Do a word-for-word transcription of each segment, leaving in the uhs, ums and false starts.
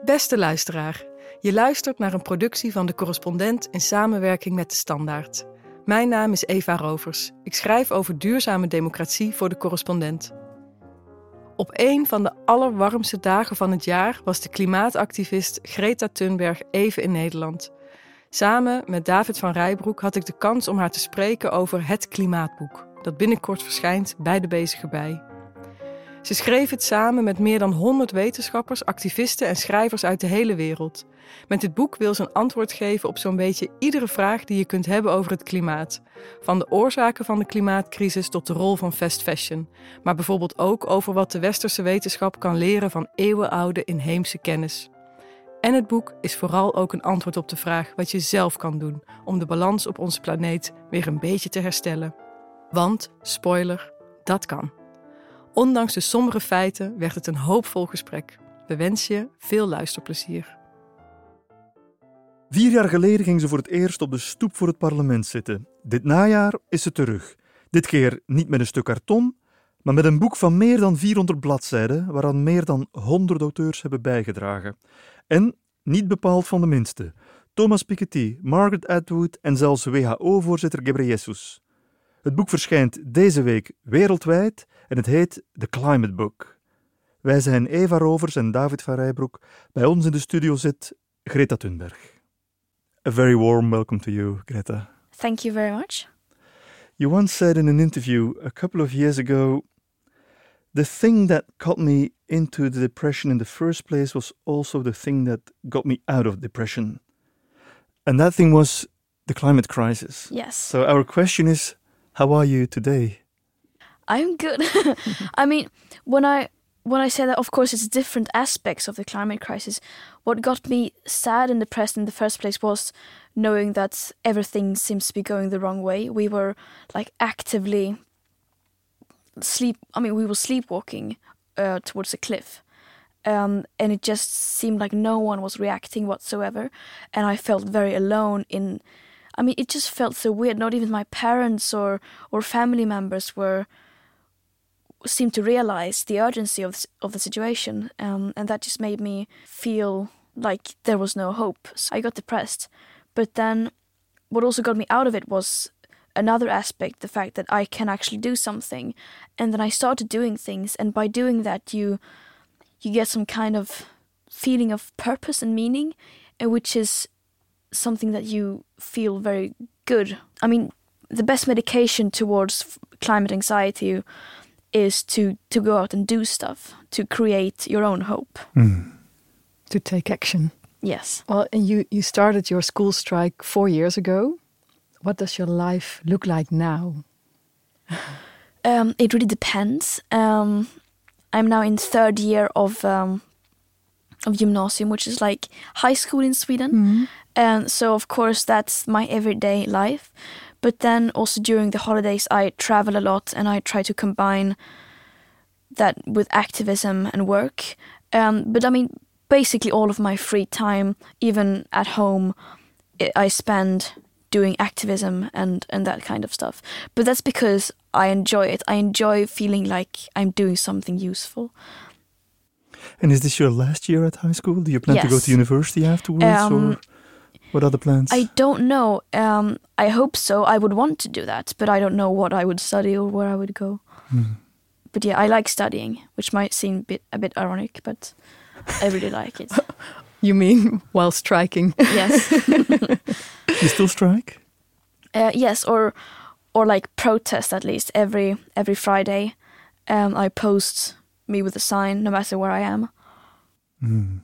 Beste luisteraar, je luistert naar een productie van De Correspondent in samenwerking met De Standaard. Mijn naam is Eva Rovers. Ik schrijf over duurzame democratie voor De Correspondent. Op een van de allerwarmste dagen van het jaar was de klimaatactivist Greta Thunberg even in Nederland. Samen met David van Rijbroek had ik de kans om haar te spreken over Het Klimaatboek, dat binnenkort verschijnt bij De Bezige Bij. Ze schreef het samen met meer dan honderd wetenschappers, activisten en schrijvers uit de hele wereld. Met dit boek wil ze een antwoord geven op zo'n beetje iedere vraag die je kunt hebben over het klimaat. Van de oorzaken van de klimaatcrisis tot de rol van fast fashion. Maar bijvoorbeeld ook over wat de westerse wetenschap kan leren van eeuwenoude inheemse kennis. En het boek is vooral ook een antwoord op de vraag wat je zelf kan doen om de balans op onze planeet weer een beetje te herstellen. Want, spoiler, dat kan. Ondanks de sombere feiten werd het een hoopvol gesprek. We wensen je veel luisterplezier. Vier jaar geleden ging ze voor het eerst op de stoep voor het parlement zitten. Dit najaar is ze terug. Dit keer niet met een stuk karton, maar met een boek van meer dan vierhonderd bladzijden, waaraan meer dan honderd auteurs hebben bijgedragen. En, niet bepaald van de minste, Thomas Piketty, Margaret Atwood en zelfs W H O-voorzitter Ghebreyesus. Het boek verschijnt deze week wereldwijd en het heet The Climate Book. Wij zijn Eva Rovers en David van Rijbroek. Bij ons in de studio zit Greta Thunberg. A very warm welcome to you, Greta. Thank you very much. You once said in an interview a couple of years ago, the thing that got me into the depression in the first place was also the thing that got me out of depression. And that thing was the climate crisis. Yes. So our question is, how are you today? I'm good. I mean, when I when I say that, of course, it's different aspects of the climate crisis. What got me sad and depressed in the first place was knowing that everything seems to be going the wrong way. We were like actively sleep. I mean, we were sleepwalking uh, towards a cliff, um, and it just seemed like no one was reacting whatsoever, and I felt very alone in. I mean, it just felt so weird. Not even my parents or or family members were seemed to realize the urgency of the, of the situation, um, and that just made me feel like there was no hope. So I got depressed. But then, what also got me out of it was another aspect: the fact that I can actually do something. And then I started doing things, and by doing that, you you get some kind of feeling of purpose and meaning, and which is something that you feel very good. I mean, the best medication towards climate anxiety is to, to go out and do stuff, to create your own hope. Mm. To take action. Yes. Well, and you, you started your school strike four years ago. What does your life look like now? um, it really depends. Um, I'm now in third year of um, of gymnasium, which is like high school in Sweden. Mm-hmm. And so, of course, that's my everyday life. But then also during the holidays, I travel a lot and I try to combine that with activism and work. Um, but I mean, basically all of my free time, even at home, I spend doing activism and, and that kind of stuff. But that's because I enjoy it. I enjoy feeling like I'm doing something useful. And is this your last year at high school? Do you plan yes. to go to university afterwards? Um, or what are the plans? I don't know. Um, I hope so. I would want to do that, but I don't know what I would study or where I would go. Mm. But yeah, I like studying, which might seem a bit, a bit ironic, but I really like it. You mean while striking? Yes. You still strike? Uh, yes, or or like protest at least every every Friday. Um, I post me with a sign, no matter where I am. Mm.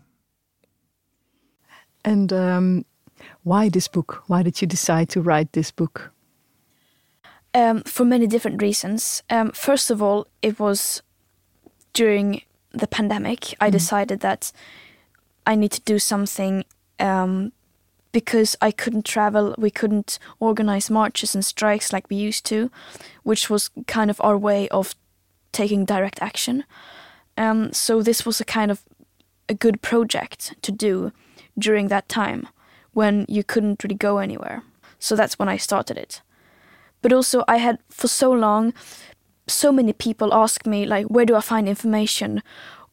And um, why this book? Why did you decide to write this book? Um, for many different reasons. Um, first of all, it was during the pandemic. I mm. decided that I need to do something um, because I couldn't travel. We couldn't organize marches and strikes like we used to, which was kind of our way of taking direct action. Um, so this was a kind of a good project to do during that time when you couldn't really go anywhere. So that's when I started it. But also I had for so long, so many people ask me like, where do I find information?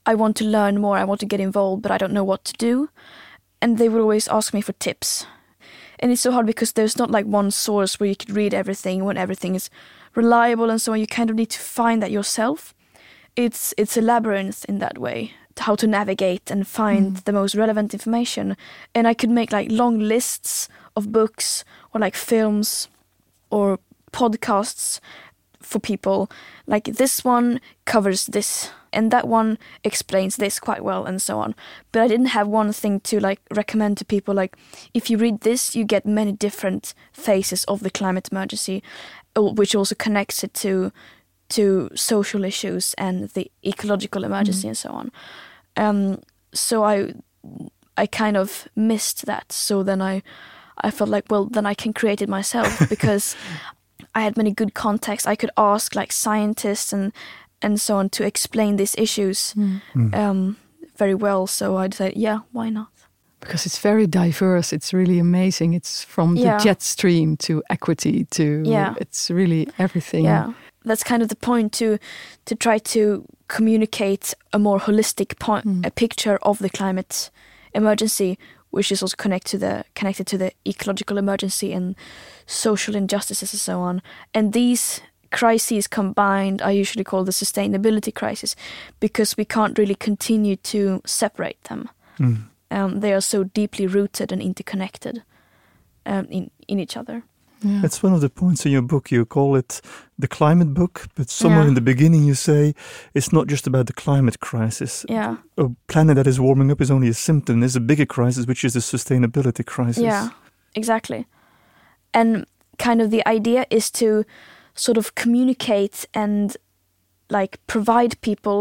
I want to learn more, I want to get involved, but I don't know what to do. And they would always ask me for tips. And it's so hard because there's not like one source where you could read everything when everything is reliable and so on. You kind of need to find that yourself. It's it's a labyrinth in that way, how to navigate and find mm. the most relevant information. And I could make like long lists of books or like films or podcasts for people. Like this one covers this and that one explains this quite well and so on. But I didn't have one thing to like recommend to people. Like if you read this, you get many different phases of the climate emergency, which also connects it to to social issues and the ecological emergency mm. and so on. Um, so I I kind of missed that. So then I I felt like, well, then I can create it myself because I had many good contacts. I could ask like scientists and and so on to explain these issues mm. Um, very well. So I decided, yeah, why not? Because it's very diverse. It's really amazing. It's from the yeah. jet stream to equity to yeah. it's really everything. Yeah, that's kind of the point, to to try to communicate a more holistic point, mm. a picture of the climate emergency, which is also connect to the connected to the ecological emergency and social injustices and so on. And these crises combined I usually call the sustainability crisis, because we can't really continue to separate them. Mm. Um, they are so deeply rooted and interconnected um, in, in each other. Yeah. It's one of the points in your book. You call it the climate book, but somewhere yeah. in the beginning you say it's not just about the climate crisis. Yeah. A planet that is warming up is only a symptom. There's a bigger crisis, which is the sustainability crisis. Yeah, exactly. And kind of the idea is to sort of communicate and like provide people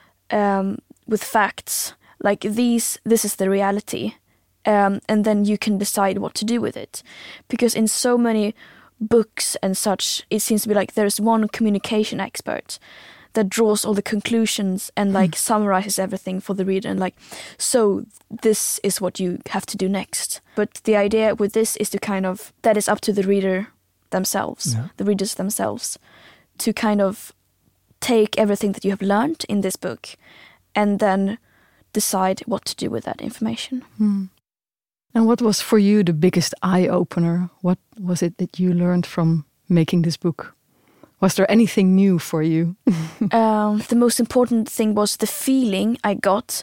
um, with facts. Like these, this is the reality. Um, and then you can decide what to do with it. Because in so many books and such, it seems to be like there's one communication expert that draws all the conclusions and like mm. summarizes everything for the reader and like, so this is what you have to do next. But the idea with this is to kind of, that is up to the reader themselves, yeah. the readers themselves, to kind of take everything that you have learned in this book and then decide what to do with that information. Mm. And what was for you the biggest eye-opener? What was it that you learned from making this book? Was there anything new for you? um, the most important thing was the feeling I got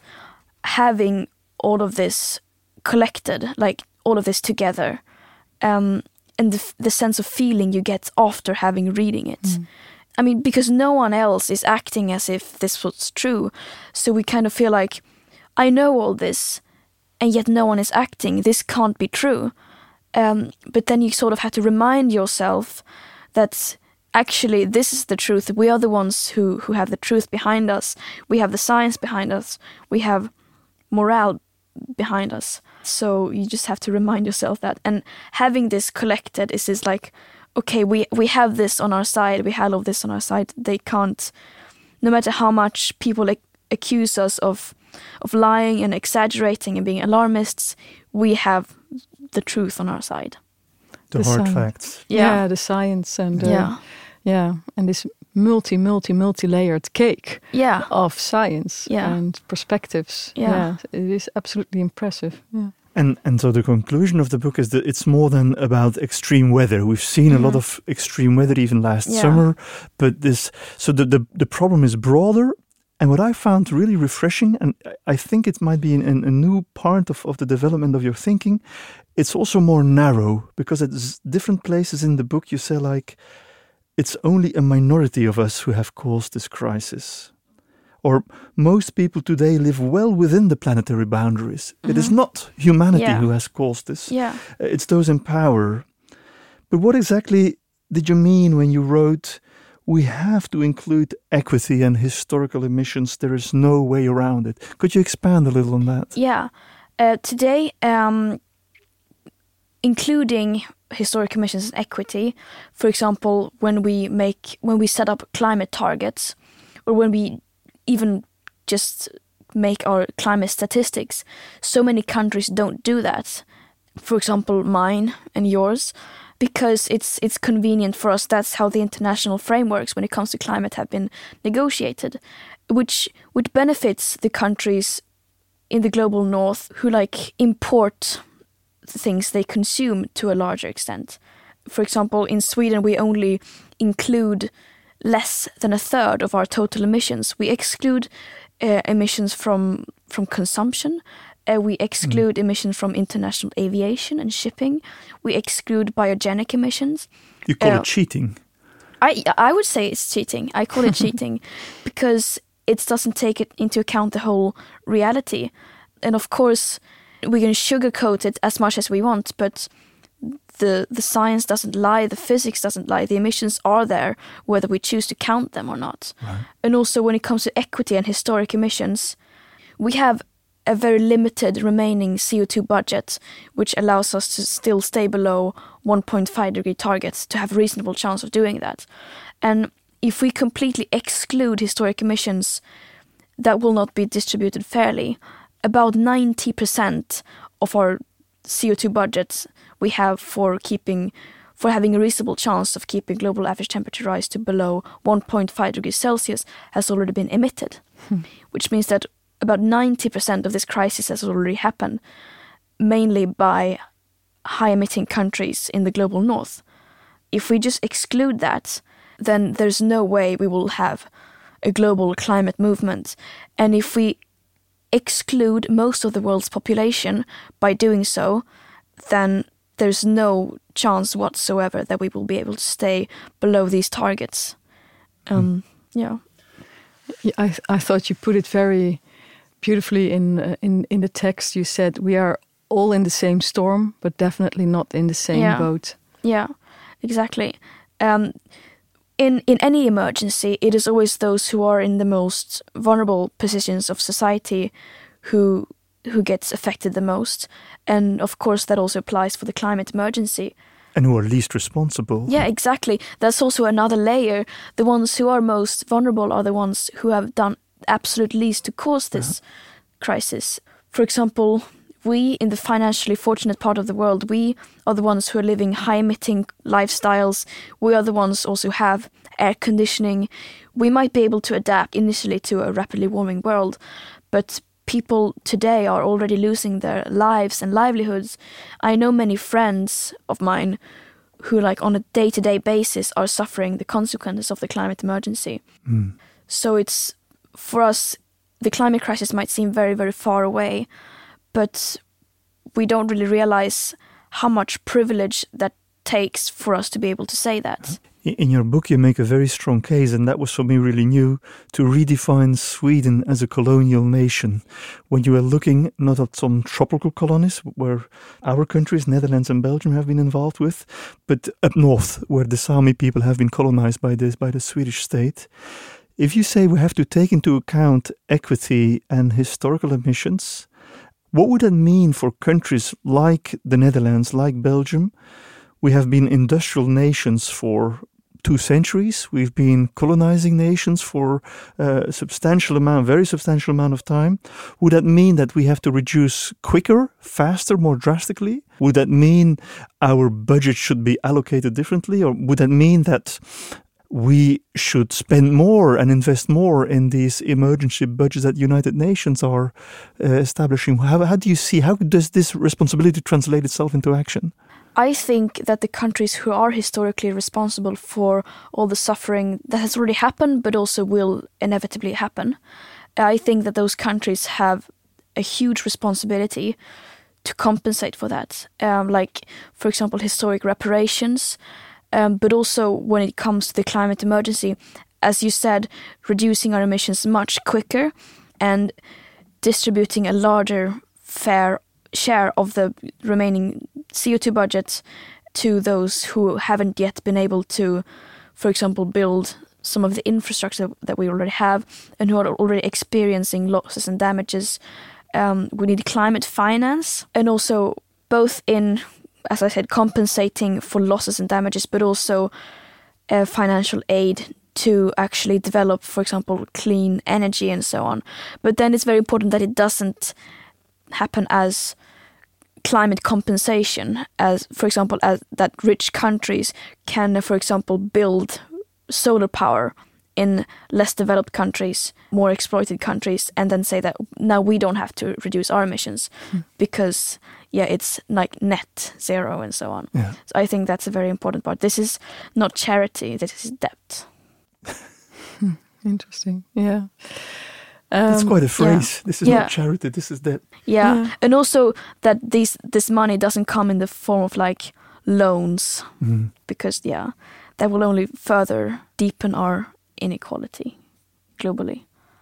having all of this collected, like all of this together. Um, and the, the sense of feeling you get after having reading it. Mm. I mean, because no one else is acting as if this was true. So we kind of feel like, I know all this, and yet no one is acting. This can't be true. Um, but then you sort of have to remind yourself that actually this is the truth. We are the ones who, who have the truth behind us. We have the science behind us. We have morale behind us. So you just have to remind yourself that. And having this collected is this like, okay, we, we have this on our side. We have all of this on our side. They can't, no matter how much people ac- accuse us of of lying and exaggerating and being alarmists, we have the truth on our side. The, the hard science. facts. Yeah. yeah, the science and uh, yeah. yeah, and this multi, multi, multi-layered cake yeah. of science yeah. and perspectives. Yeah. yeah, it is absolutely impressive. Yeah. And and so the conclusion of the book is that it's more than about extreme weather. We've seen mm-hmm. a lot of extreme weather even last yeah. summer, but this so the, the the problem is broader. And what I found really refreshing, and I think it might be in a new part of, of the development of your thinking, it's also more narrow, because at different places in the book you say like, it's only a minority of us who have caused this crisis. Or most people today live well within the planetary boundaries. Mm-hmm. It is not humanity yeah. who has caused this. Yeah. It's those in power. But what exactly did you mean when you wrote, we have to include equity and historical emissions. There is no way around it. Could you expand a little on that? Yeah. Uh, today, um, including historic emissions and equity, for example, when we make when we set up climate targets, or when we even just make our climate statistics, so many countries don't do that. For example, mine and yours. Because it's it's convenient for us. That's how the international frameworks when it comes to climate have been negotiated. which which benefits the countries in the global north who like import the things they consume to a larger extent. For example, in Sweden we only include less than a third of our total emissions. We exclude uh, emissions from from consumption. Uh, we exclude mm. emissions from international aviation and shipping. We exclude biogenic emissions. You call uh, it cheating? I I would say it's cheating. I call it cheating because it doesn't take it into account the whole reality. And of course, we can sugarcoat it as much as we want, but the the science doesn't lie, the physics doesn't lie. The emissions are there, whether we choose to count them or not. Right. And also, when it comes to equity and historic emissions, we have a very limited remaining C O two budget, which allows us to still stay below one point five degree targets to have a reasonable chance of doing that. And if we completely exclude historic emissions, that will not be distributed fairly. About ninety percent of our C O two budgets we have for keeping, for having a reasonable chance of keeping global average temperature rise to below one point five degrees Celsius has already been emitted, hmm. which means that about ninety percent of this crisis has already happened, mainly by high-emitting countries in the global north. If we just exclude that, then there's no way we will have a global climate movement. And if we exclude most of the world's population by doing so, then there's no chance whatsoever that we will be able to stay below these targets. Um, mm. Yeah. yeah I, I thought you put it very beautifully in uh, in in the text. You said we are all in the same storm, but definitely not in the same yeah. boat. Yeah, exactly. Um, in in any emergency, it is always those who are in the most vulnerable positions of society who who gets affected the most, and of course that also applies for the climate emergency. And who are least responsible. Yeah, exactly. That's also another layer. The ones who are most vulnerable are the ones who have done absolute least to cause this uh-huh. crisis. For example, we in the financially fortunate part of the world, we are the ones who are living high-emitting lifestyles. We are the ones also who have air conditioning. We might be able to adapt initially to a rapidly warming world, but people today are already losing their lives and livelihoods. I know many friends of mine who, like, on a day-to-day basis are suffering the consequences of the climate emergency. Mm. So it's, for us, the climate crisis might seem very, very far away, but we don't really realize how much privilege that takes for us to be able to say that. In your book, you make a very strong case, and that was for me really new, to redefine Sweden as a colonial nation. When you were looking not at some tropical colonies where our countries, Netherlands and Belgium, have been involved with, but up north, where the Sami people have been colonized by this by the Swedish state. If you say we have to take into account equity and historical emissions, what would that mean for countries like the Netherlands, like Belgium? We have been industrial nations for two centuries. We've been colonizing nations for a substantial amount, very substantial amount of time. Would that mean that we have to reduce quicker, faster, more drastically? Would that mean our budget should be allocated differently? Or would that mean that we should spend more and invest more in these emergency budgets that United Nations are uh, establishing? How, how do you see, how does this responsibility translate itself into action? I think that the countries who are historically responsible for all the suffering that has already happened, but also will inevitably happen, I think that those countries have a huge responsibility to compensate for that. Um, like, for example, historic reparations, um, but also when it comes to the climate emergency, as you said, reducing our emissions much quicker and distributing a larger fair share of the remaining C O two budgets to those who haven't yet been able to, for example, build some of the infrastructure that we already have and who are already experiencing losses and damages. Um, we need climate finance, and also both in, as I said, compensating for losses and damages, but also uh, financial aid to actually develop, for example, clean energy and so on. But then it's very important that it doesn't happen as climate compensation, as, for example, as that rich countries can, for example, build solar power in less developed countries, more exploited countries, and then say that now we don't have to reduce our emissions mm. because, yeah, it's like net zero and so on. Yeah. So I think that's a very important part. This is not charity, this is debt. Interesting, yeah. That's Um, quite a phrase. yeah. This is yeah. not charity, this is debt. Yeah. Yeah. And also that these this money doesn't come in the form of like loans Mm. because, yeah, that will only further deepen our inequality globally.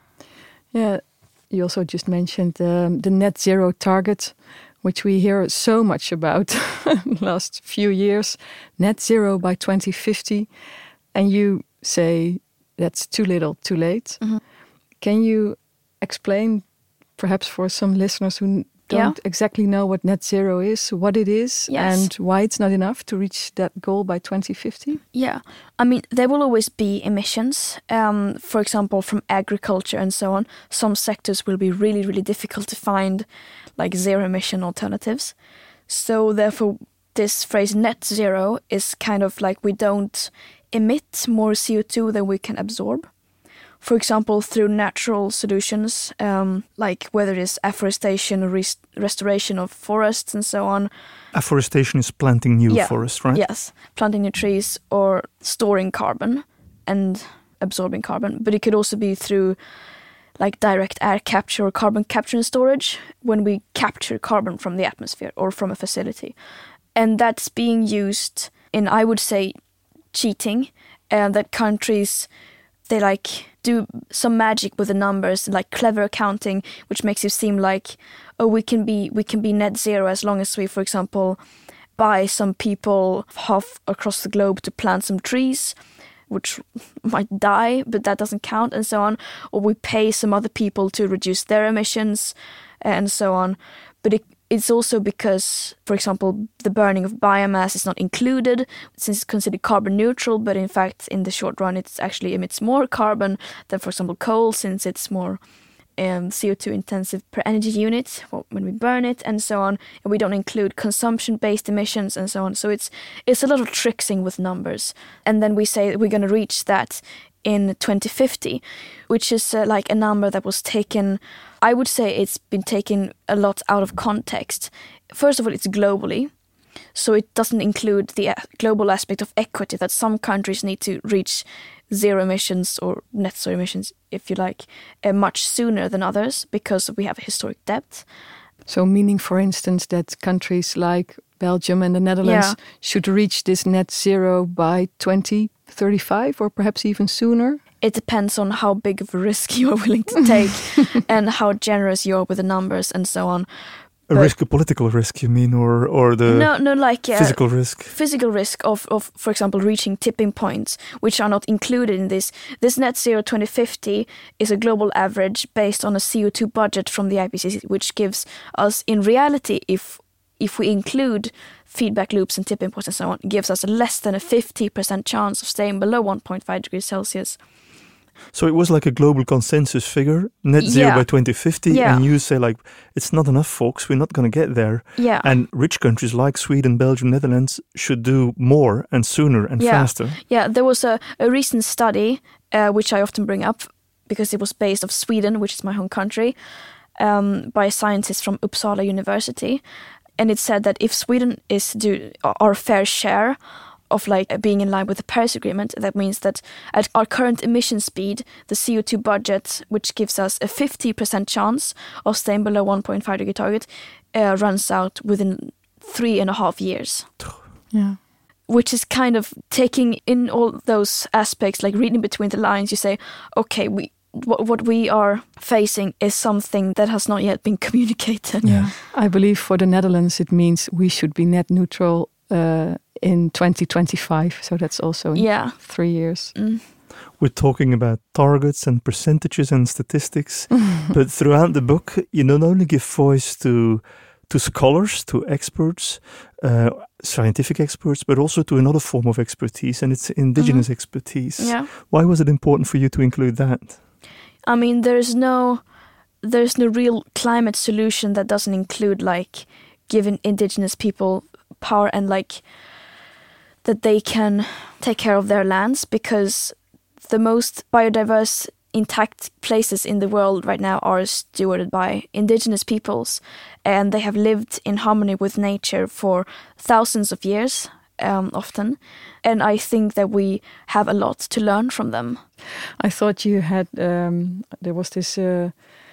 Yeah, you also just mentioned um, the net zero target, which we hear so much about the last few years, net zero by twenty fifty. And you say that's too little, too late. Mm-hmm. Can you explain, perhaps for some listeners who don't Yeah. exactly know what net zero is, what it is, Yes. and why it's not enough to reach that goal by twenty fifty? Yeah, I mean, there will always be emissions, um, for example, from agriculture and so on. Some sectors will be really, really difficult to find like zero emission alternatives. So therefore, this phrase net zero is kind of like we don't emit more C O two than we can absorb. For example, through natural solutions, um, like whether it's afforestation or res- restoration of forests and so on. Afforestation is planting new Yeah. forests, right? Yes, planting new trees or storing carbon and absorbing carbon. But it could also be through like direct air capture or carbon capture and storage when we capture carbon from the atmosphere or from a facility. And that's being used in, I would say, cheating, and that countries, they like do some magic with the numbers, like clever accounting, which makes it seem like, oh, we can be we can be net zero as long as we, for example, buy some people half across the globe to plant some trees, which might die, but that doesn't count, and so on. Or we pay some other people to reduce their emissions, and so on. But it, it's also because, for example, the burning of biomass is not included since it's considered carbon neutral, but in fact, in the short run, it actually emits more carbon than, for example, coal, since it's more um, C O two intensive per energy unit when we burn it, and so on. And we don't include consumption-based emissions and so on. So it's it's a lot of tricksing with numbers. And then we say we're going to reach that in twenty fifty, which is uh, like a number that was taken, I would say it's been taken a lot out of context. First of all, it's globally, so it doesn't include the uh, global aspect of equity, that some countries need to reach zero emissions or net zero emissions, if you like, uh, much sooner than others because we have a historic debt. So meaning, for instance, that countries like Belgium and the Netherlands Yeah. should reach this net zero by twenty thirty-five or perhaps even sooner? It depends on how big of a risk you are willing to take and how generous you are with the numbers and so on. A But- risk, a political risk, you mean, or or the no, no, like uh, physical risk? physical risk of, of, for example, reaching tipping points, which are not included in this. This net zero twenty fifty is a global average based on a C O two budget from the I P C C, which gives us, in reality, if if we include feedback loops and tipping points and so on, gives us less than a fifty percent chance of staying below one point five degrees Celsius. So it was like a global consensus figure, net zero Yeah. by twenty fifty, Yeah. and you say like, it's not enough, folks, we're not going to get there. Yeah. And rich countries like Sweden, Belgium, Netherlands should do more and sooner and Yeah. faster. Yeah, there was a, a recent study, uh, which I often bring up because it was based off Sweden, which is my home country, um, by scientists from Uppsala University. And it said that if Sweden is do our fair share of like being in line with the Paris Agreement, that means that at our current emission speed, the C O two budget, which gives us a fifty percent chance of staying below one point five degree target, uh, runs out within three and a half years. Yeah. Which is kind of taking in all those aspects, like reading between the lines, you say, okay, we what, what we are facing is something that has not yet been communicated. Yeah. I believe for the Netherlands it means we should be net neutral uh, in twenty twenty-five. So that's also in Yeah. three years. Mm. We're talking about targets and percentages and statistics, but throughout the book, you not only give voice to to scholars, to experts, uh, scientific experts, but also to another form of expertise, and it's indigenous Mhm. expertise. Yeah. Why was it important for you to include that? I mean, there's no there's no real climate solution that doesn't include like giving indigenous people power and like that they can take care of their lands, because the most biodiverse, intact places in the world right now are stewarded by indigenous peoples, and they have lived in harmony with nature for thousands of years, um, often. And I think that we have a lot to learn from them. I thought you had, um, there was this uh,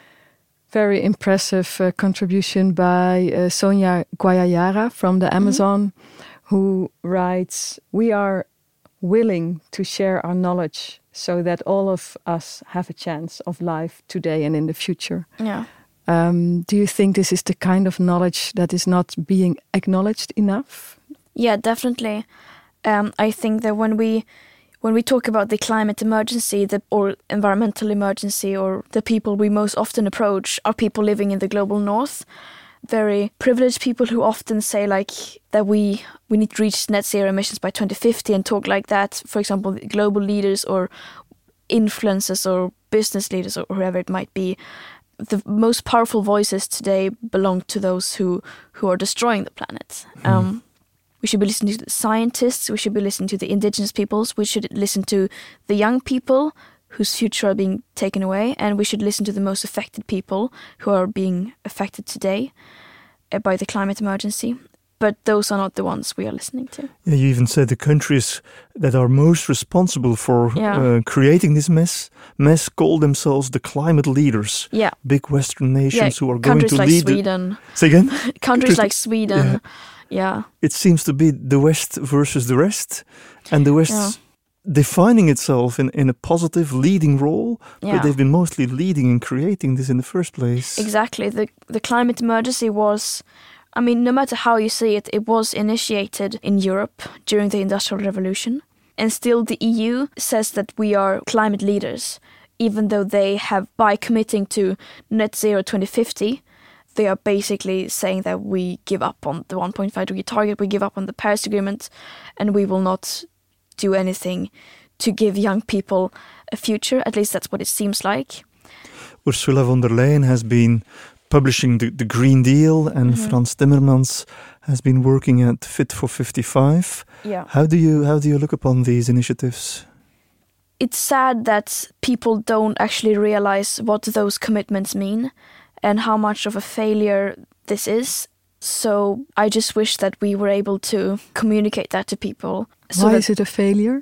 very impressive uh, contribution by uh, Sonia Guayayara from the Amazon, mm-hmm. who writes, "We are willing to share our knowledge so that all of us have a chance of life today and in the future." Yeah. Um, do you think this is the kind of knowledge that is not being acknowledged enough? Yeah, definitely. Um, I think that when we when we talk about the climate emergency, the, or environmental emergency, or the people we most often approach are people living in the global north, very privileged people who often say like that we we need to reach net zero emissions by twenty fifty and talk like that. For example, global leaders or influencers or business leaders or whoever it might be. The most powerful voices today belong to those who, who are destroying the planet. Mm. Um, we should be listening to the scientists, we should be listening to the indigenous peoples, we should listen to the young people whose future are being taken away, and we should listen to the most affected people who are being affected today uh, by the climate emergency. But those are not the ones we are listening to. Yeah, you even said the countries that are most responsible for yeah. uh, creating this mess, mess call themselves the climate leaders. Yeah. Big Western nations yeah, who are going to like lead. Sweden. The... Say again? Countries like Sweden. Yeah. yeah. It seems to be the West versus the rest, and the West yeah. defining itself in, in a positive leading role, yeah. but they've been mostly leading and creating this in the first place. Exactly. The the climate emergency was... I mean, no matter how you see it, it was initiated in Europe during the Industrial Revolution. And still the E U says that we are climate leaders, even though they have, by committing to net zero twenty fifty, they are basically saying that we give up on the one point five degree target, we give up on the Paris Agreement, and we will not do anything to give young people a future. At least that's what it seems like. Ursula von der Leyen has been publishing the, the Green Deal, and mm-hmm. Frans Timmermans has been working at Fit for fifty-five. Yeah. How do you how do you look upon these initiatives? It's sad that people don't actually realize what those commitments mean and how much of a failure this is. So I just wish that we were able to communicate that to people. So Why that, is it a failure?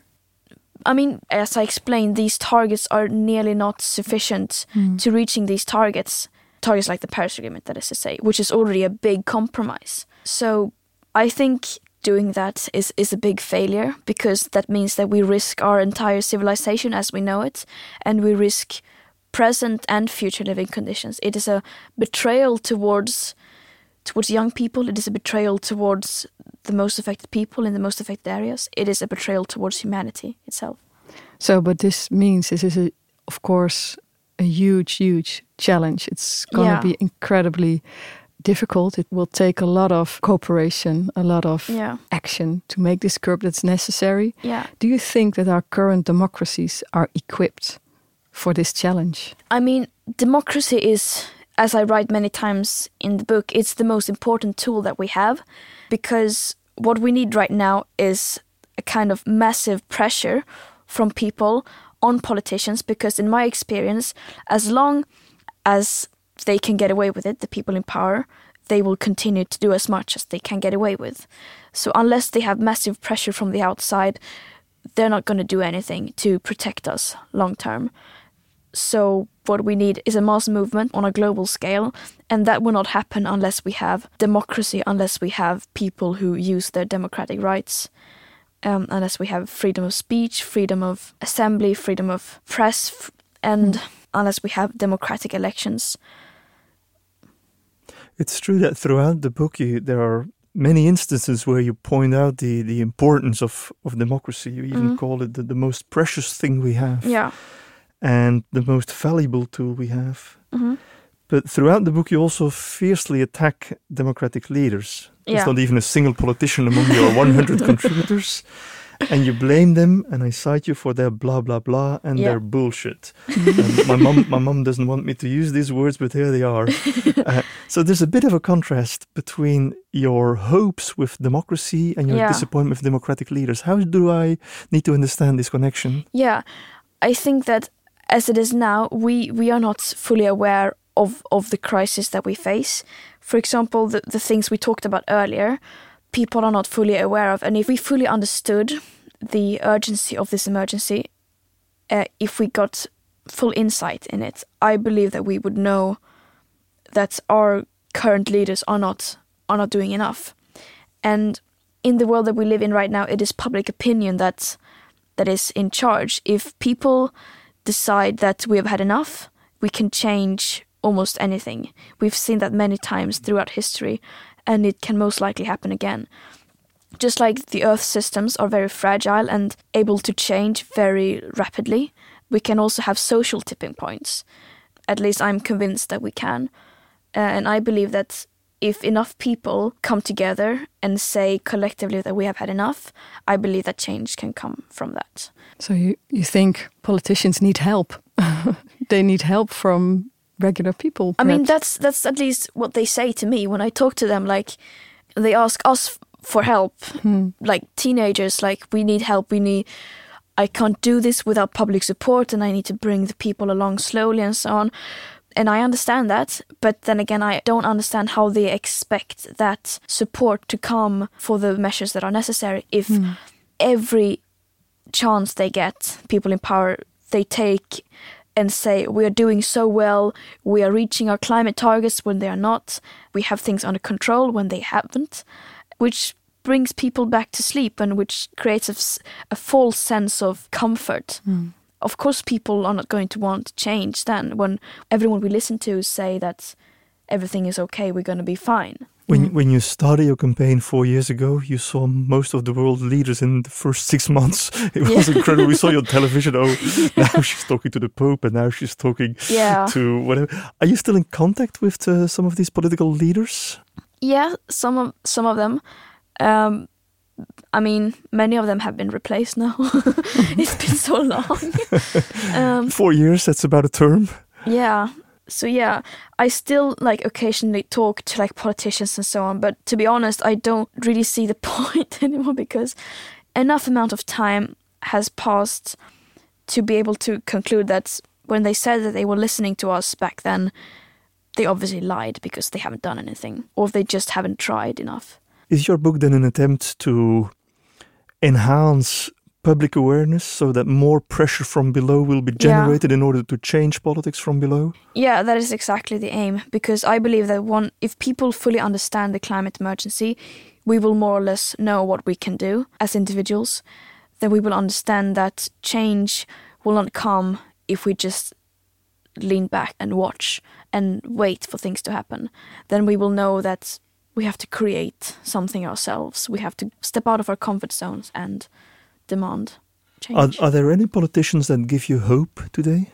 I mean, as I explained, these targets are nearly not sufficient mm. to reaching these targets. Targets like the Paris Agreement, that is to say, which is already a big compromise. So I think doing that is, is a big failure, because that means that we risk our entire civilization as we know it, and we risk present and future living conditions. It is a betrayal towards towards young people. It is a betrayal towards the most affected people in the most affected areas. It is a betrayal towards humanity itself. So, but this means this is, a, of course, a huge, huge challenge. It's going yeah. to be incredibly difficult. It will take a lot of cooperation, a lot of yeah. action to make this curb that's necessary. Yeah. Do you think that our current democracies are equipped for this challenge? I mean, democracy is, as I write many times in the book, it's the most important tool that we have, because what we need right now is a kind of massive pressure from people on politicians, because in my experience, as long as they can get away with it, the people in power, they will continue to do as much as they can get away with. So unless they have massive pressure from the outside, they're not going to do anything to protect us long term. So what we need is a mass movement on a global scale, and that will not happen unless we have democracy, unless we have people who use their democratic rights. Um, unless we have freedom of speech, freedom of assembly, freedom of press, f- and mm. unless we have democratic elections. It's true that throughout the book you, there are many instances where you point out the, the importance of, of democracy. You even mm. call it the, the most precious thing we have. Yeah. And the most valuable tool we have. Mm-hmm. But throughout the book you also fiercely attack democratic leaders. There's yeah. not even a single politician among your one hundred contributors. And you blame them, and I cite you for their blah, blah, blah, and yeah. their bullshit. um, my mom my mom doesn't want me to use these words, but here they are. Uh, so there's a bit of a contrast between your hopes with democracy and your yeah. disappointment with democratic leaders. How do I need to understand this connection? Yeah, I think that as it is now, we, we are not fully aware of, of the crisis that we face. For example, the, the things we talked about earlier, people are not fully aware of. And if we fully understood the urgency of this emergency, uh, if we got full insight in it, I believe that we would know that our current leaders are not are not doing enough. And in the world that we live in right now, it is public opinion that that is in charge. If people decide that we have had enough, we can change almost anything. We've seen that many times throughout history, and it can most likely happen again. Just like the Earth systems are very fragile and able to change very rapidly, we can also have social tipping points. At least I'm convinced that we can. Uh, and I believe that if enough people come together and say collectively that we have had enough, I believe that change can come from that. So you, you think politicians need help? They need help from regular people? Perhaps? I mean, that's that's at least what they say to me when I talk to them. Like, they ask us for help, hmm. like teenagers, like, we need help, we need... I can't do this without public support, and I need to bring the people along slowly and so on. And I understand that, but then again, I don't understand how they expect that support to come for the measures that are necessary if mm. every chance they get, people in power, they take and say, we are doing so well, we are reaching our climate targets when they are not, we have things under control when they haven't, which brings people back to sleep and which creates a, a false sense of comfort. Mm. Of course, people are not going to want change then when everyone we listen to say that everything is okay, we're going to be fine. When, mm. when you started your campaign four years ago, you saw most of the world leaders in the first six months. It was yeah. incredible. We saw you on television. Oh, now she's talking to the Pope and now she's talking yeah. to whatever. Are you still in contact with uh, some of these political leaders? Yeah, some of, some of them. Um, I mean, many of them have been replaced now. It's been so long. um, Four years, that's about a term. Yeah. So yeah, I still like occasionally talk to like politicians and so on. But to be honest, I don't really see the point anymore because enough amount of time has passed to be able to conclude that when they said that they were listening to us back then, they obviously lied because they haven't done anything or they just haven't tried enough. Is your book then an attempt to enhance public awareness so that more pressure from below will be generated yeah. in order to change politics from below? Yeah, that is exactly the aim, because I believe that one, if people fully understand the climate emergency, we will more or less know what we can do as individuals. Then we will understand that change will not come if we just lean back and watch and wait for things to happen. Then we will know that we have to create something ourselves. We have to step out of our comfort zones and demand change. Are, are there any politicians that give you hope today?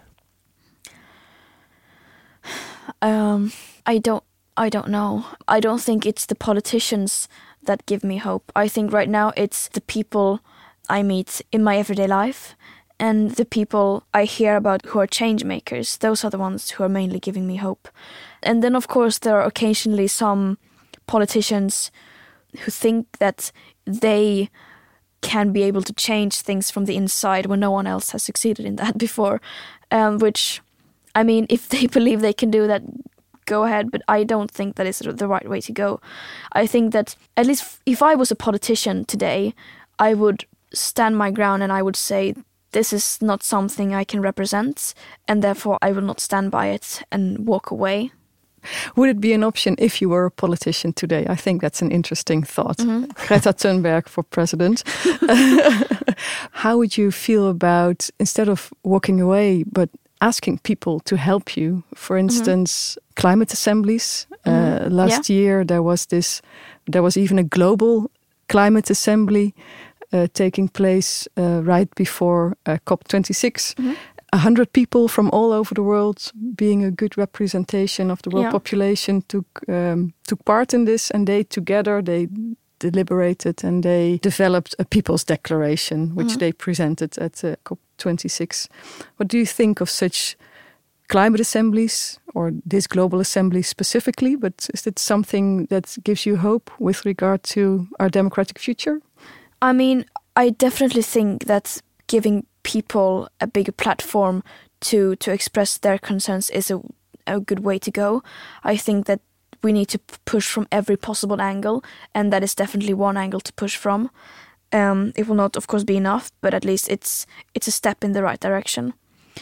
Um, I don't. I don't know. I don't think it's the politicians that give me hope. I think right now it's the people I meet in my everyday life and the people I hear about who are change makers. Those are the ones who are mainly giving me hope. And then, of course, there are occasionally some politicians who think that they can be able to change things from the inside when no one else has succeeded in that before, um, which, I mean, if they believe they can do that, go ahead, but I don't think that is the right way to go. I think that at least if I was a politician today, I would stand my ground and I would say this is not something I can represent and therefore I will not stand by it and walk away. Would it be an option if you were a politician today? I think that's an interesting thought. Mm-hmm. Greta Thunberg for president. How would you feel about, instead of walking away, but asking people to help you? For instance, mm-hmm. climate assemblies. Mm-hmm. Uh, last yeah. year there was this, there was even a global climate assembly uh, taking place uh, right before uh, COP twenty-six. Mm-hmm. A hundred people from all over the world, being a good representation of the world yeah. population, took um, took part in this, and they together they deliberated and they developed a People's Declaration, which mm-hmm. they presented at uh, COP twenty-six. What do you think of such climate assemblies, or this global assembly specifically? But is it something that gives you hope with regard to our democratic future? I mean, I definitely think that giving people a bigger platform to to express their concerns is a, a good way to go. I think that we need to p- push from every possible angle, and that is definitely one angle to push from. Um, it will not, of course, be enough, but at least it's it's a step in the right direction.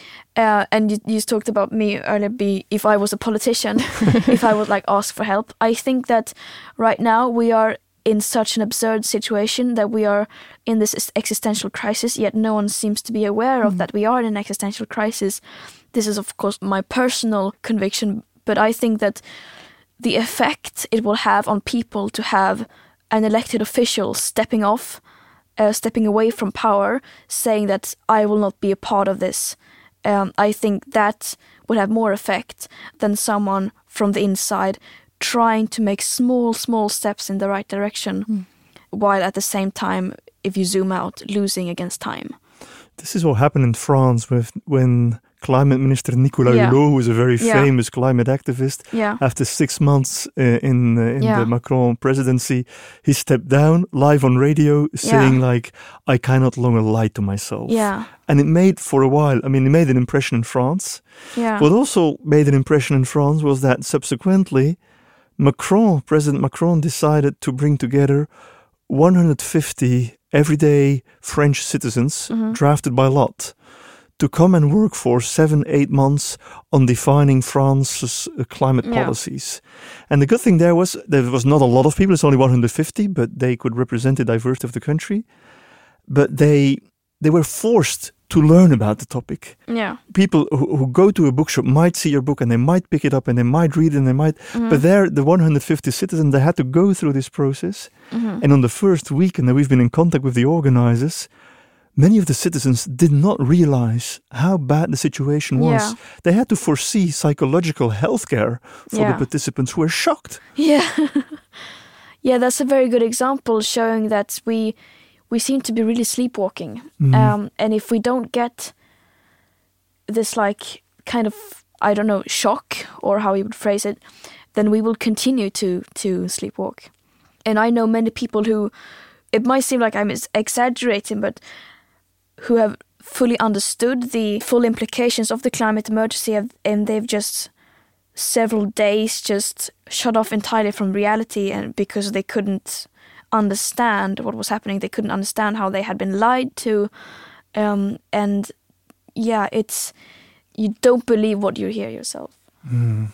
Uh, and you, you talked about me earlier, be if I was a politician, if I would like ask for help. I think that right now we are in such an absurd situation that we are in this existential crisis, yet no one seems to be aware of mm. that we are in an existential crisis. This is, of course, my personal conviction, but I think that the effect it will have on people to have an elected official stepping off, uh, stepping away from power, saying that I will not be a part of this. Um, I think that would have more effect than someone from the inside trying to make small, small steps in the right direction, mm. while at the same time, if you zoom out, losing against time. This is what happened in France with when Climate Minister Nicolas yeah. Hulot, who was a very yeah. famous climate activist, yeah. after six months uh, in uh, in yeah. the Macron presidency, he stepped down live on radio saying yeah. like, I cannot longer lie to myself. Yeah. And it made for a while, I mean, it made an impression in France. Yeah. What also made an impression in France was that subsequently, Macron, President Macron decided to bring together one hundred fifty everyday French citizens mm-hmm. drafted by lot to come and work for seven, eight months on defining France's uh, climate yeah. policies. And the good thing there was there was not a lot of people, it's only one hundred fifty, but they could represent the diversity of the country. But they they were forced to learn about the topic. Yeah. People who, who go to a bookshop might see your book and they might pick it up and they might read it and they might, mm-hmm. but there, the one hundred fifty citizens, they had to go through this process. Mm-hmm. And on the first weekend that we've been in contact with the organizers, many of the citizens did not realize how bad the situation was. Yeah. They had to foresee psychological health care for yeah. the participants who were shocked. Yeah. yeah, that's a very good example showing that we we seem to be really sleepwalking. Mm. Um, and if we don't get this like kind of, I don't know, shock or how you would phrase it, then we will continue to, to sleepwalk. And I know many people who, it might seem like I'm exaggerating, but who have fully understood the full implications of the climate emergency, and they've just several days just shut off entirely from reality, and because they couldn't understand what was happening, they couldn't understand how they had been lied to, um, and yeah, it's you don't believe what you hear yourself. Mm.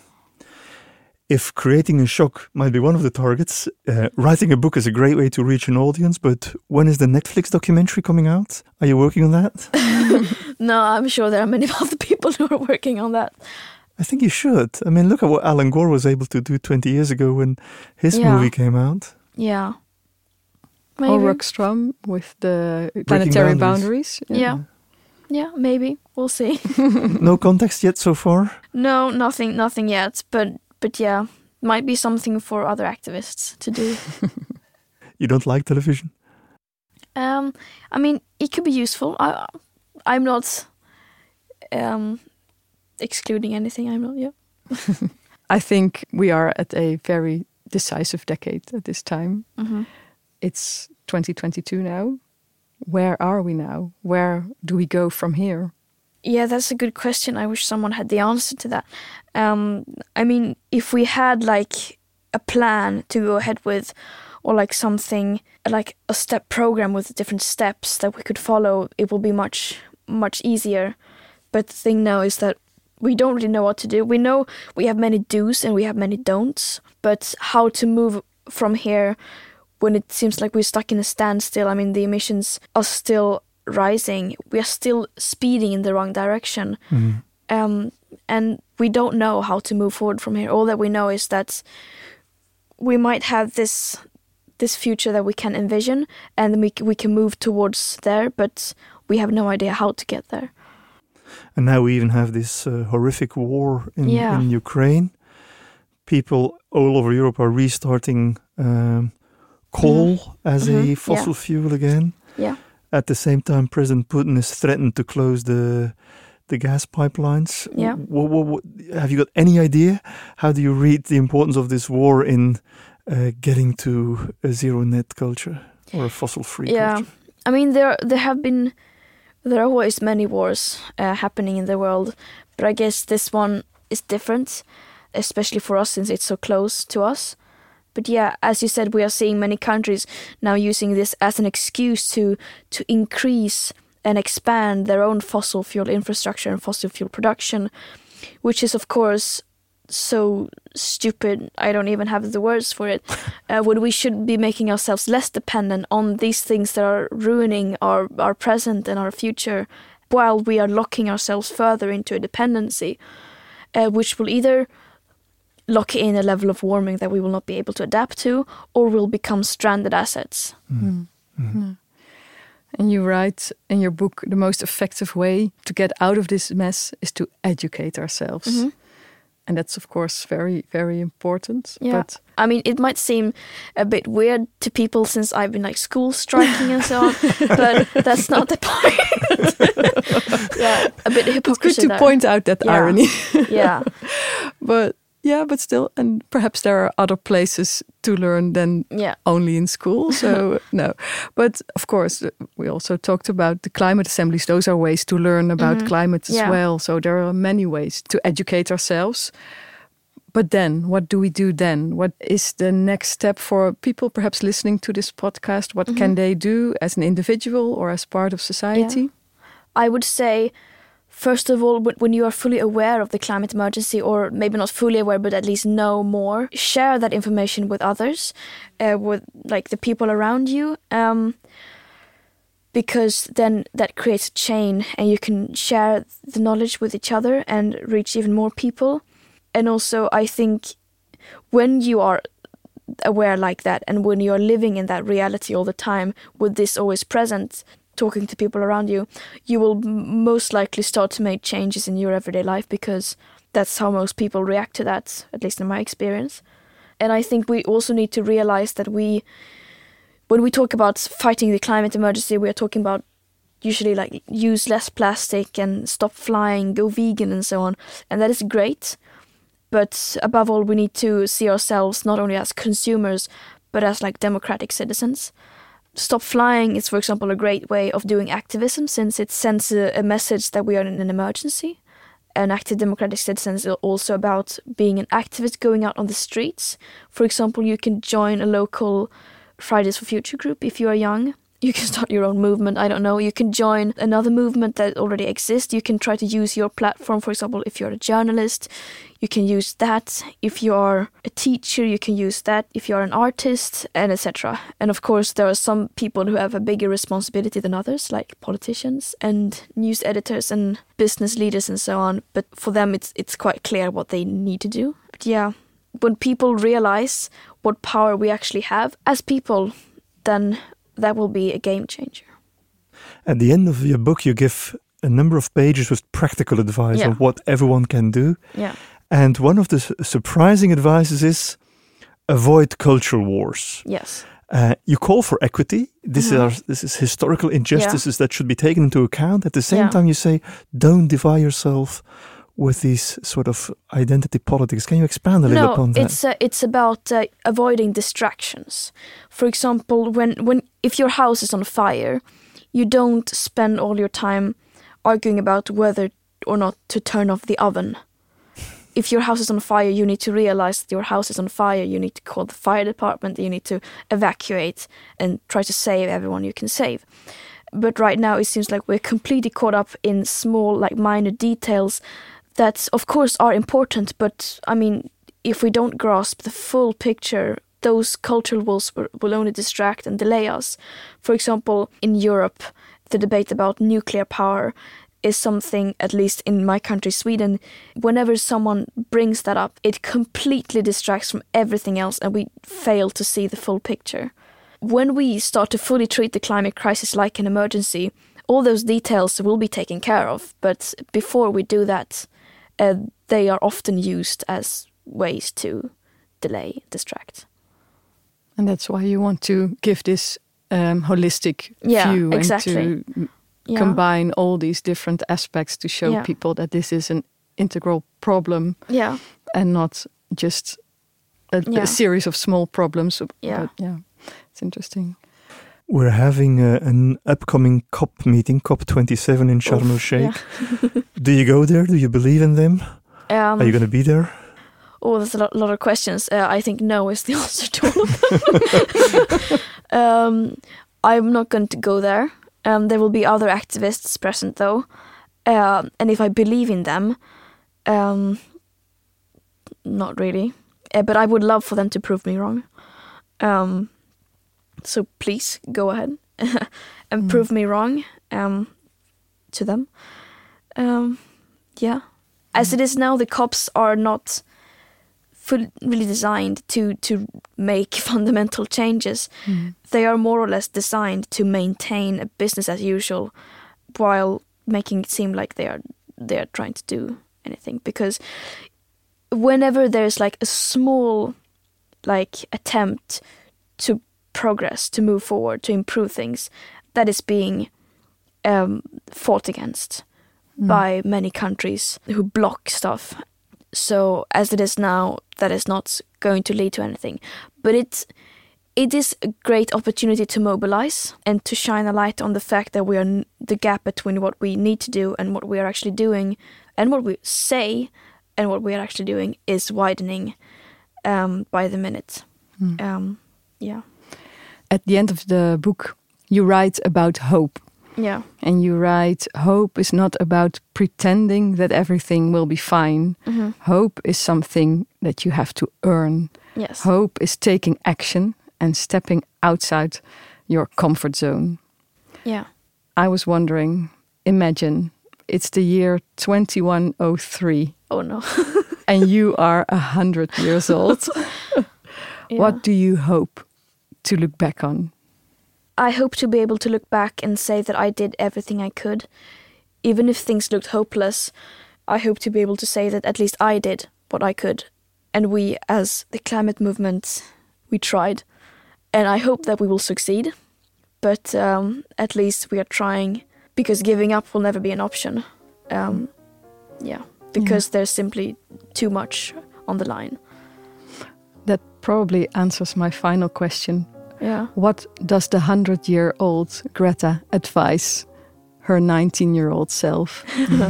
If creating a shock might be one of the targets, uh, writing a book is a great way to reach an audience, but when is the Netflix documentary coming out? Are you working on that? No, I'm sure there are many other people who are working on that. I think you should. I mean, look at what Alan Gore was able to do twenty years ago when his yeah. movie came out. Yeah. Maybe. Or Rockstrom with the planetary boundaries. boundaries. Yeah. yeah. Yeah, maybe. We'll see. No context yet so far? No, nothing nothing yet, but But yeah, might be something for other activists to do. You don't like television? Um, I mean, it could be useful. I, I'm not um, excluding anything. I'm not, yeah. I think we are at a very decisive decade at this time. Mm-hmm. It's twenty twenty-two now. Where are we now? Where do we go from here? Yeah, that's a good question. I wish someone had the answer to that. Um, I mean, if we had like a plan to go ahead with, or like something like a step program with different steps that we could follow, it will be much, much easier. But the thing now is that we don't really know what to do. We know we have many do's and we have many don'ts, but how to move from here when it seems like we're stuck in a standstill. I mean, the emissions are still rising. We are still speeding in the wrong direction. Mm. Um, and we don't know how to move forward from here. All that we know is that we might have this this future that we can envision, and we we can move towards there, but we have no idea how to get there. And now we even have this uh, horrific war in, yeah. in Ukraine. People all over Europe are restarting um, coal mm-hmm. as mm-hmm. a fossil yeah. fuel again. Yeah. At the same time, President Putin has threatened to close the the gas pipelines. Yeah. What, what, what, have you got any idea? How do you read the importance of this war in uh, getting to a zero net culture or a fossil free yeah. culture? I mean, there there have been There are always many wars uh, happening in the world, but I guess this one is different, especially for us since it's so close to us. But yeah, as you said, we are seeing many countries now using this as an excuse to to increase and expand their own fossil fuel infrastructure and fossil fuel production, which is of course so stupid. I don't even have the words for it. Uh, when we should be making ourselves less dependent on these things that are ruining our, our present and our future, while we are locking ourselves further into a dependency, uh, which will either lock in a level of warming that we will not be able to adapt to, or will become stranded assets. Mm. Mm. Mm. And you write in your book, the most effective way to get out of this mess is to educate ourselves. Mm-hmm. And that's, of course, very, very important. Yeah. But I mean, it might seem a bit weird to people since I've been like school striking and so on, but that's not the point. Yeah, a bit of hypocrisy. It's good to there. point out that yeah. irony. Yeah. But yeah, but still, and perhaps there are other places to learn than yeah. only in school. So no, but of course, we also talked about the climate assemblies. Those are ways to learn about mm-hmm. climate as yeah. well. So there are many ways to educate ourselves. But then, what do we do then? What is the next step for people perhaps listening to this podcast? What mm-hmm. can they do as an individual or as part of society? Yeah. I would say, first of all, when you are fully aware of the climate emergency, or maybe not fully aware, but at least know more, share that information with others, uh, with like the people around you, um, because then that creates a chain and you can share the knowledge with each other and reach even more people. And also, I think when you are aware like that and when you are living in that reality all the time with this always present, talking to people around you, you will most likely start to make changes in your everyday life, because that's how most people react to that, at least in my experience. And I think we also need to realize that we, when we talk about fighting the climate emergency, we are talking about usually like use less plastic and stop flying, go vegan and so on. And that is great. But above all, we need to see ourselves not only as consumers, but as like democratic citizens. Stop flying is, for example, a great way of doing activism, since it sends a, a message that we are in an emergency. An active democratic citizen is also about being an activist, going out on the streets. For example, you can join a local Fridays for Future group if you are young. You can start your own movement, I don't know. You can join another movement that already exists. You can try to use your platform, for example, if you're a journalist, you can use that. If you are a teacher, you can use that. If you are an artist, and et cetera. And of course, there are some people who have a bigger responsibility than others, like politicians and news editors and business leaders and so on. But for them, it's it's quite clear what they need to do. But yeah, when people realize what power we actually have as people, then that will be a game changer. At the end of your book, you give a number of pages with practical advice yeah. on what everyone can do. Yeah. And one of the su- surprising advices is avoid cultural wars. Yes. Uh, you call for equity. This, mm-hmm. are, this is historical injustices yeah. that should be taken into account. At the same yeah. time, you say, don't divide yourself with these sort of identity politics. Can you expand a little no, upon that? No, it's uh, it's about uh, avoiding distractions. For example, when, when if your house is on fire, you don't spend all your time arguing about whether or not to turn off the oven. If your house is on fire, you need to realize that your house is on fire. You need to call the fire department. You need to evacuate and try to save everyone you can save. But right now, it seems like we're completely caught up in small, like minor details that, of course, are important. But, I mean, if we don't grasp the full picture, those cultural wars will only distract and delay us. For example, in Europe, the debate about nuclear power is something, at least in my country, Sweden, whenever someone brings that up, it completely distracts from everything else and we fail to see the full picture. When we start to fully treat the climate crisis like an emergency, all those details will be taken care of. But before we do that, uh, they are often used as ways to delay, distract. And that's why you want to give this um, holistic yeah, view exactly. and to yeah. combine all these different aspects to show yeah. people that this is an integral problem yeah. and not just a, yeah. a series of small problems. Yeah. But yeah, it's interesting. We're having uh, an upcoming COP meeting, COP twenty-seven in Sharm el-Sheikh. Yeah. Do you go there? Do you believe in them? Um, Are you going to be there? Oh, there's a lot, lot of questions. Uh, I think no is the answer to all of them. um, I'm not going to go there. Um, there will be other activists present, though. Uh, and if I believe in them, um, not really. Uh, but I would love for them to prove me wrong. Um, so please go ahead and mm. prove me wrong um, to them. Um, yeah. As it is now, the COPs are not fully really designed to, to make fundamental changes. Mm. They are more or less designed to maintain a business as usual while making it seem like they are they are trying to do anything. Because whenever there's like a small like attempt to progress, to move forward, to improve things, that is being um, fought against mm. by many countries who block stuff. So as it is now, that is not going to lead to anything. But it it is a great opportunity to mobilize and to shine a light on the fact that we are the gap between what we need to do and what we are actually doing, and what we say and what we are actually doing is widening um, by the minute. Mm. Um, yeah. At the end of the book, you write about hope. Yeah. And you write, hope is not about pretending that everything will be fine. Mm-hmm. Hope is something that you have to earn. Yes. Hope is taking action and stepping outside your comfort zone. Yeah. I was wondering, imagine it's the year twenty-one oh three. Oh no. And you are a hundred years old. Yeah. What do you hope to look back on? I hope to be able to look back and say that I did everything I could. Even if things looked hopeless, I hope to be able to say that at least I did what I could. And we, as the climate movement, we tried. And I hope that we will succeed. But um, at least we are trying, because giving up will never be an option. Um, yeah, because yeah. there's simply too much on the line. That probably answers my final question. Yeah. What does the hundred-year-old Greta advise her nineteen-year-old self?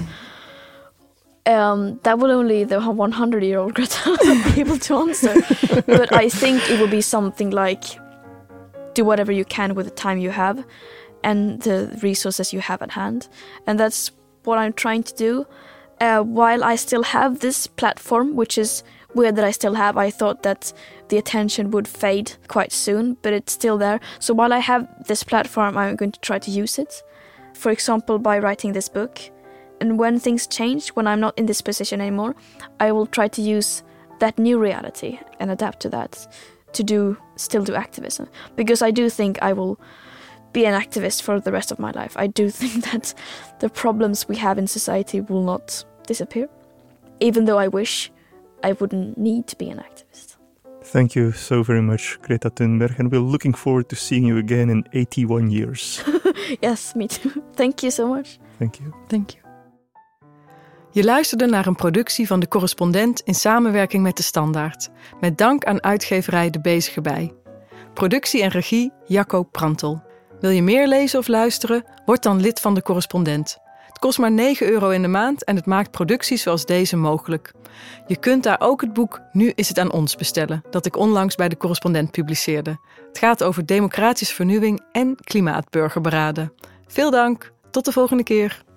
um, that will only the one hundred-year-old Greta be able to answer. But I think it will be something like, do whatever you can with the time you have and the resources you have at hand. And that's what I'm trying to do. Uh, while I still have this platform, which is weird that I still have, I thought that the attention would fade quite soon, but it's still there. So while I have this platform, I'm going to try to use it. For example, by writing this book. And when things change, when I'm not in this position anymore, I will try to use that new reality and adapt to that, to do still do activism. Because I do think I will be an activist for the rest of my life. I do think that the problems we have in society will not disappear, even though I wish I wouldn't need to be an activist. Thank you so very much, Greta Thunberg, and we're looking forward to seeing you again in eighty-one years. Yes, me too. Thank you so much. Thank you. Thank you. Je luisterde naar een productie van De Correspondent in samenwerking met De Standaard. Met dank aan uitgeverij De Bezige Bij. Productie en regie Jacco Prantel. Wil je meer lezen of luisteren? Word dan lid van De Correspondent. Het kost maar negen euro in de maand en het maakt producties zoals deze mogelijk. Je kunt daar ook het boek Nu is het aan ons bestellen, dat ik onlangs bij De Correspondent publiceerde. Het gaat over democratische vernieuwing en klimaatburgerberaden. Veel dank, tot de volgende keer.